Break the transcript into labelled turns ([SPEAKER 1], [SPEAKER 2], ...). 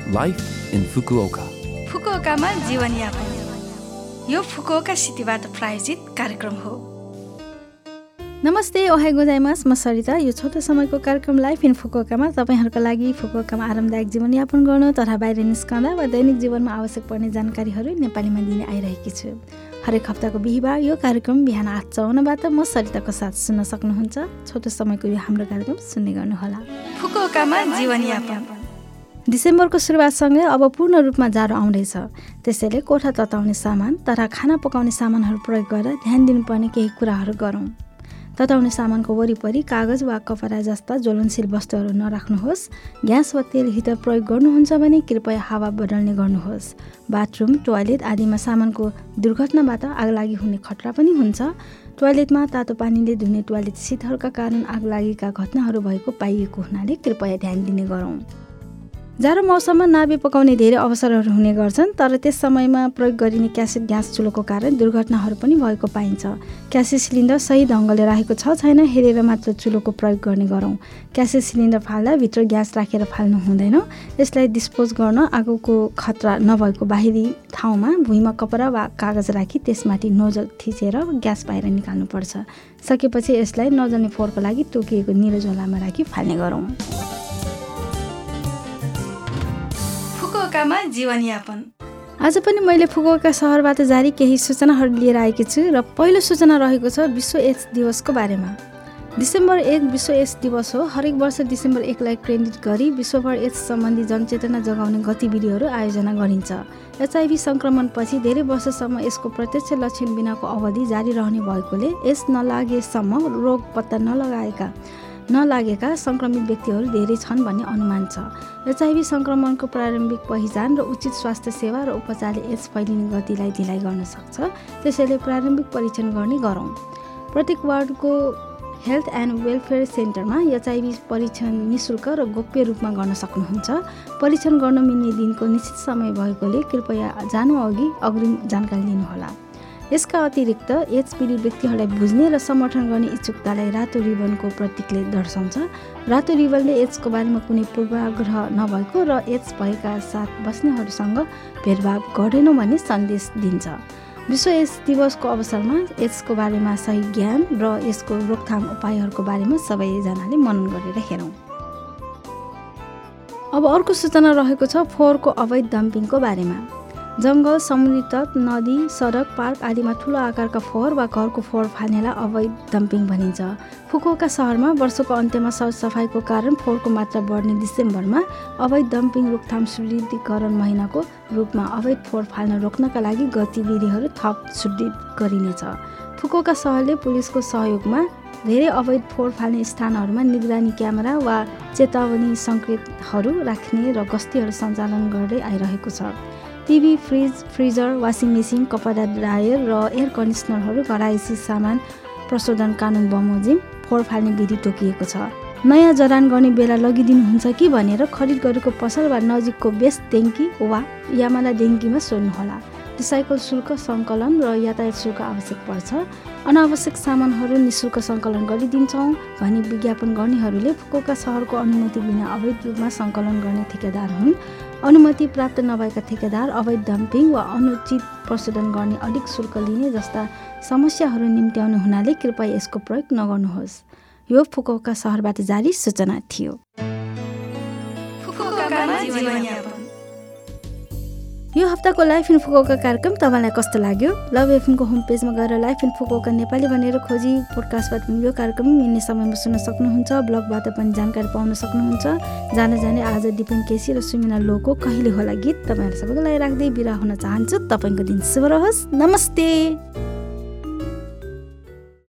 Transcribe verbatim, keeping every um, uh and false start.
[SPEAKER 1] Life in Fukuoka.
[SPEAKER 2] फुकुओकामा जीवनयापन यो Fukuoka सिटीबाट प्रायोजित कार्यक्रम हो।
[SPEAKER 3] नमस्ते, ओहाई गोजाइमास, म सरिता। यो छोटो समयको कार्यक्रम लाइफ इन फुकुओकामा तपाईँहरूका लागि फुकुओकामा आरामदायक जीवनयापन गर्न तथा बाहिर निस्कँदा वा दैनिक जीवनमा आवश्यक पर्ने जानकारीहरू नेपालीमा दिने आइरहेकी छु। हरेक हप्ताको बिहिबार यो कार्यक्रम बिहान आठ चौवन्नबाट म सरिताको साथ सुन्न सक्नुहुन्छ। छोटो समयको यो हाम्रो कार्यक्रम सुन्ने गर्नुहोला।
[SPEAKER 2] फुकुओकामा जीवनयापन।
[SPEAKER 3] डिसेम्बरको सुरुवातसँगै अब पूर्ण रूपमा जाडो आउँदैछ। त्यसैले कोठा तताउने सामान तथा खाना पकाउने सामानहरू प्रयोग गरेर ध्यान दिनुपर्ने केही कुराहरू गरौँ। तताउने सामानको वरिपरि कागज वा कपडा जस्ता ज्वलनशील वस्तुहरू नराख्नुहोस्। ग्यास वा तेल हिटर प्रयोग गर्नुहुन्छ भने कृपया हावा बदल्ने गर्नुहोस्। बाथरुम, टोयलेट आदिमा सामानको दुर्घटनाबाट आगलागी हुने खतरा पनि हुन्छ। टोयलेटमा तातो पानीले धुने टोयलेट सिटहरूका कारण आगलागीका घटनाहरू भएको पाइएको हुनाले कृपया ध्यान दिने गरौँ। जाडो मौसममा नाभे पकाउने धेरै अवसरहरू हुने गर्छन्, तर त्यस समयमा प्रयोग गरिने क्यासेट ग्यास चुलोको कारण दुर्घटनाहरू पनि भएको पाइन्छ। क्यासेट सिलिन्डर सही ढङ्गले राखेको छ छैन हेरेर मात्र चुलोको प्रयोग गर्ने गरौँ। क्यासेट सिलिन्डर फाल्दा भित्र ग्यास राखेर फाल्नु हुँदैन। यसलाई डिस्पोज गर्न आगोको खतरा नभएको बाहिरी ठाउँमा भुइँमा कपडा वा कागज राखी त्यसमाथि नोजल थिचेर ग्यास बाहिर निकाल्नुपर्छ। सकेपछि यसलाई नजल्ने फोहोरको लागि तोकिएको निलो झोलामा राखी फाल्ने गरौँ।
[SPEAKER 2] फुकुओकामा जीवनयापन।
[SPEAKER 3] आज पनि मैले फुकुओका सहरबाट जारी केही सूचनाहरू लिएर आएकी छु र पहिलो सूचना रहेको छ विश्व एड्स दिवसको बारेमा। डिसेम्बर एक विश्व एड्स दिवस हो। हरेक वर्ष डिसेम्बर एकलाई केन्द्रित गरी विश्वभर एड्स सम्बन्धी जनचेतना जगाउने गतिविधिहरू आयोजना गरिन्छ। एचआइभी सङ्क्रमणपछि धेरै वर्षसम्म यसको प्रत्यक्ष लक्षण बिनाको अवधि जारी रहने भएकोले एड्स नलागेसम्म रोग पत्ता नलगाएका नलागेका सङ्क्रमित व्यक्तिहरू धेरै छन् भन्ने अनुमान छ। एचआइभी सङ्क्रमणको प्रारम्भिक पहिचान र उचित स्वास्थ्य सेवा र उपचारले एड्स फैलिने गतिलाई ढिलाइ गर्न सक्छ। त्यसैले प्रारम्भिक परीक्षण गर्ने गरौँ। प्रत्येक वार्डको हेल्थ एन्ड वेलफेयर सेन्टरमा एचआइभी परीक्षण निःशुल्क र गोप्य रूपमा गर्न सक्नुहुन्छ। परीक्षण गर्न मिल्ने दिनको निश्चित समय भएकोले कृपया जानु अघि अग्रिम जानकारी लिनुहोला। यसका अतिरिक्त एड्स पीडित व्यक्तिहरूलाई बुझ्ने र समर्थन गर्ने इच्छुकतालाई रातो रिबनको प्रतीकले दर्शाउँछ। रातो रिबनले एड्सको बारेमा कुनै पूर्वाग्रह नभएको र एड्स भएका साथ बस्नेहरूसँग भेदभाव गर्दैनौँ भन्ने सन्देश दिन्छ। विश्व एड्स दिवसको अवसरमा एड्सको बारेमा सही ज्ञान र यसको रोकथाम उपायहरूको बारेमा सबैजनाले मनन गरेर हेरौँ। अब अर्को सूचना रहेको छ फोहोरको अवैध डम्पिङको बारेमा। जङ्गल, समुद्री तट, नदी, सडक, पार्क आदिमा ठुलो आकारका फोहोर वा घरको फोहोर फाल्नेलाई अवैध डम्पिङ भनिन्छ। फुकुओका सहरमा वर्षको अन्त्यमा सरसफाइको कारण फोहोरको मात्रा बढ्ने डिसेम्बरमा अवैध डम्पिङ रोकथाम सुदृढीकरण महिनाको रूपमा अवैध फोहोर फाल्न रोक्नका लागि गतिविधिहरू थप सुदृढ गरिनेछ। फुकुओका सहरले पुलिसको सहयोगमा धेरै अवैध फोहोर फाल्ने स्थानहरूमा निगरानी क्यामेरा वा चेतावनी सङ्केतहरू राख्ने र गस्तीहरू सञ्चालन गर्दै आइरहेको छ। TV, fridge, freezer, washing machine, कपडा ड्रायर र एयर कन्डिसनरहरू घरायसी सामान प्रशोधन कानुन बमोजिम फोहोर फाल्ने विधि तोकिएको छ। नयाँ जडान गर्ने बेला लगिदिनुहुन्छ कि भनेर खरिद गरेको पसल वा नजिकको बेस ट्याङ्की वा यामाला ट्याङ्कीमा सोध्नुहोला। रिसाइकल शुल्क सङ्कलन र यातायात शुल्क आवश्यक पर्छ। अनावश्यक सामानहरू निःशुल्क सङ्कलन गरिदिन्छौँ भनी विज्ञापन गर्नेहरूले फुकुओका सहरको अनुमति बिना अवैध रूपमा सङ्कलन गर्ने ठेकेदार हुन्। अनुमति प्राप्त नभएका ठेकेदार अवैध डम्पिङ वा अनुचित प्रशोधन गर्ने अधिक शुल्क लिने जस्ता समस्याहरू निम्त्याउने हुनाले कृपया यसको प्रयोग नगर्नुहोस्। यो फुकुओका सहरबाट जारी सूचना थियो। यो हप्ताको लाइफ इन फुकुओका कार्यक्रम तपाईँलाई कस्तो लाग्यो? लभ एफएमको होम पेजमा गएर लाइफ इन फुकुओका नेपाली भनेर खोजी पोडकास्टबाट पनि यो कार्यक्रम मिल्ने समयमा सुन्न सक्नुहुन्छ। ब्लगबाट पनि जानकारी पाउन सक्नुहुन्छ। जान जाने आज दिपेन केसी र सुमिना लोको कहिले होला गीत तपाईँहरू सबैको लागि राख्दै बिदा हुन चाहन्छु। तपाईँको दिन शुभ रहोस्। नमस्ते।